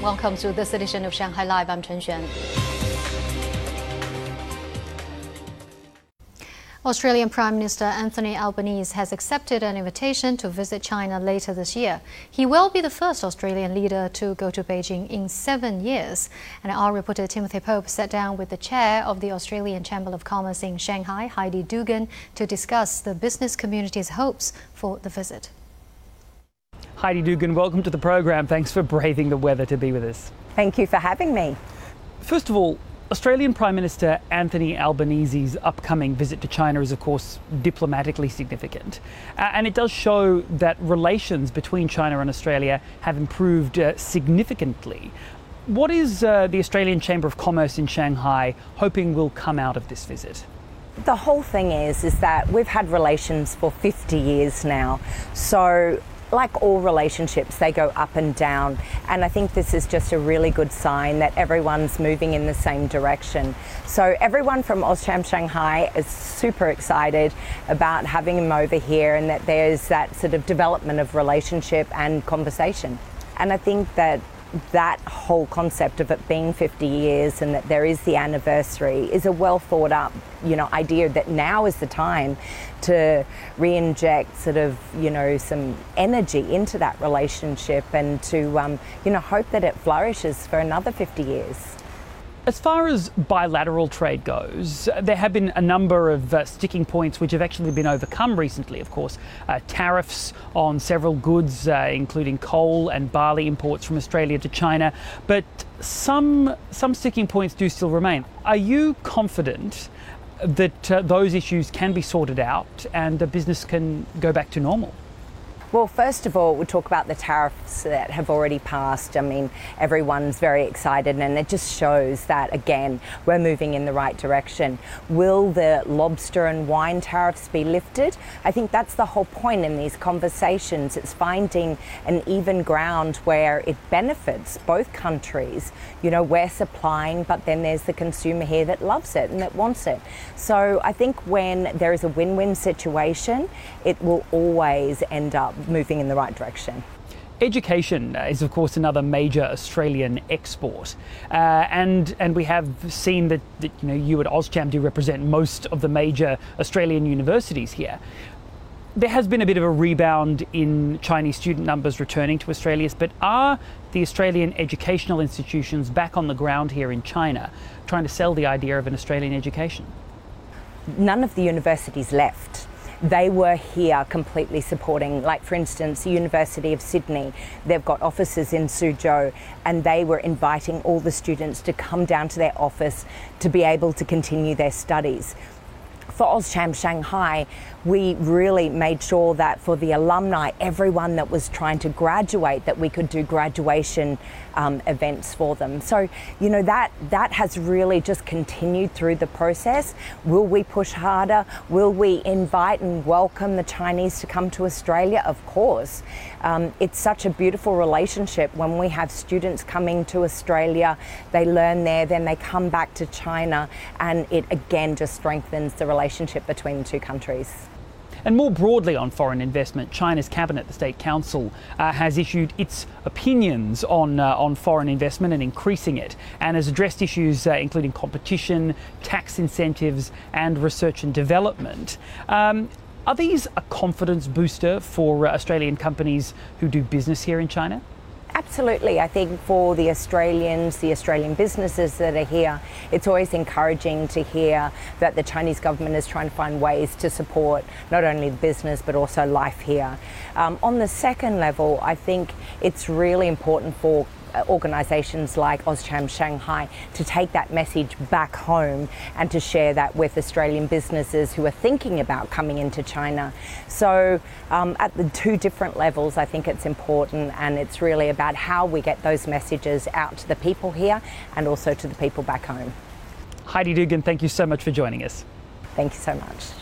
Welcome to this edition of Shanghai Live. I'm Chen Xuan. Australian Prime Minister Anthony Albanese has accepted an invitation to visit China later this year. He will be the first Australian leader to go to Beijing in 7 years. And our reporter Timothy Pope sat down with the chair of the Australian Chamber of Commerce in Shanghai, Heidi Dugan, to discuss the business community's hopes for the visit. Heidi Dugan, welcome to the program. Thanks for braving the weather to be with us. Thank you for having me. First of all, Australian Prime Minister Anthony Albanese's upcoming visit to China is, of course, diplomatically significant. And it does show that relations between China and Australia have improved significantly. What is the Australian Chamber of Commerce in Shanghai hoping will come out of this visit? The whole thing is that we've had relations for 50 years now. So like all relationships, they go up and down. And I think this is just a really good sign that everyone's moving in the same direction. So everyone from Auscham Shanghai is super excited about having him over here, and that there's that sort of development of relationship and conversation. And I think that whole concept of it being 50 years and that there is the anniversary is a well thought up, idea that now is the time to re-inject sort of, some energy into that relationship and to, hope that it flourishes for another 50 years. As far as bilateral trade goes, there have been a number of sticking points which have actually been overcome recently, of course. Tariffs on several goods, including coal and barley imports from Australia to China, but some sticking points do still remain. Are you confident that those issues can be sorted out and the business can go back to normal? Well, first of all, we'll talk about the tariffs that have already passed. I mean, everyone's very excited, and it just shows that, again, we're moving in the right direction. Will the lobster and wine tariffs be lifted? I think that's the whole point in these conversations. It's finding an even ground where it benefits both countries. We're supplying, but then there's the consumer here that loves it and that wants it. So I think when there is a win-win situation, it will always end up moving in the right direction. Education is, of course, another major Australian export, and we have seen that you at Auscham do represent most of the major Australian universities here. There has been a bit of a rebound in Chinese student numbers returning to Australia, but are the Australian educational institutions back on the ground here in China trying to sell the idea of an Australian education? None of the universities left. They were here completely supporting, like for instance, the University of Sydney. They've got offices in Suzhou, and they were inviting all the students to come down to their office to be able to continue their studies. For Auscham Shanghai, we really made sure that for the alumni, everyone that was trying to graduate, that we could do graduation events for them. So, that has really just continued through the process. Will we push harder? Will we invite and welcome the Chinese to come to Australia? Of course. It's such a beautiful relationship when we have students coming to Australia, they learn there, then they come back to China, and it again just strengthens the relationship between the two countries. And more broadly on foreign investment, China's Cabinet, the State Council, has issued its opinions on foreign investment and increasing it, and has addressed issues including competition, tax incentives and research and development. Are these a confidence booster for Australian companies who do business here in China? Absolutely. I think for the Australians, the Australian businesses that are here, it's always encouraging to hear that the Chinese government is trying to find ways to support not only the business but also life here. On the second level, I think it's really important for organisations like Auscham Shanghai to take that message back home and to share that with Australian businesses who are thinking about coming into China. So at the two different levels, I think it's important, and it's really about how we get those messages out to the people here and also to the people back home. Heidi Dugan, thank you so much for joining us. Thank you so much.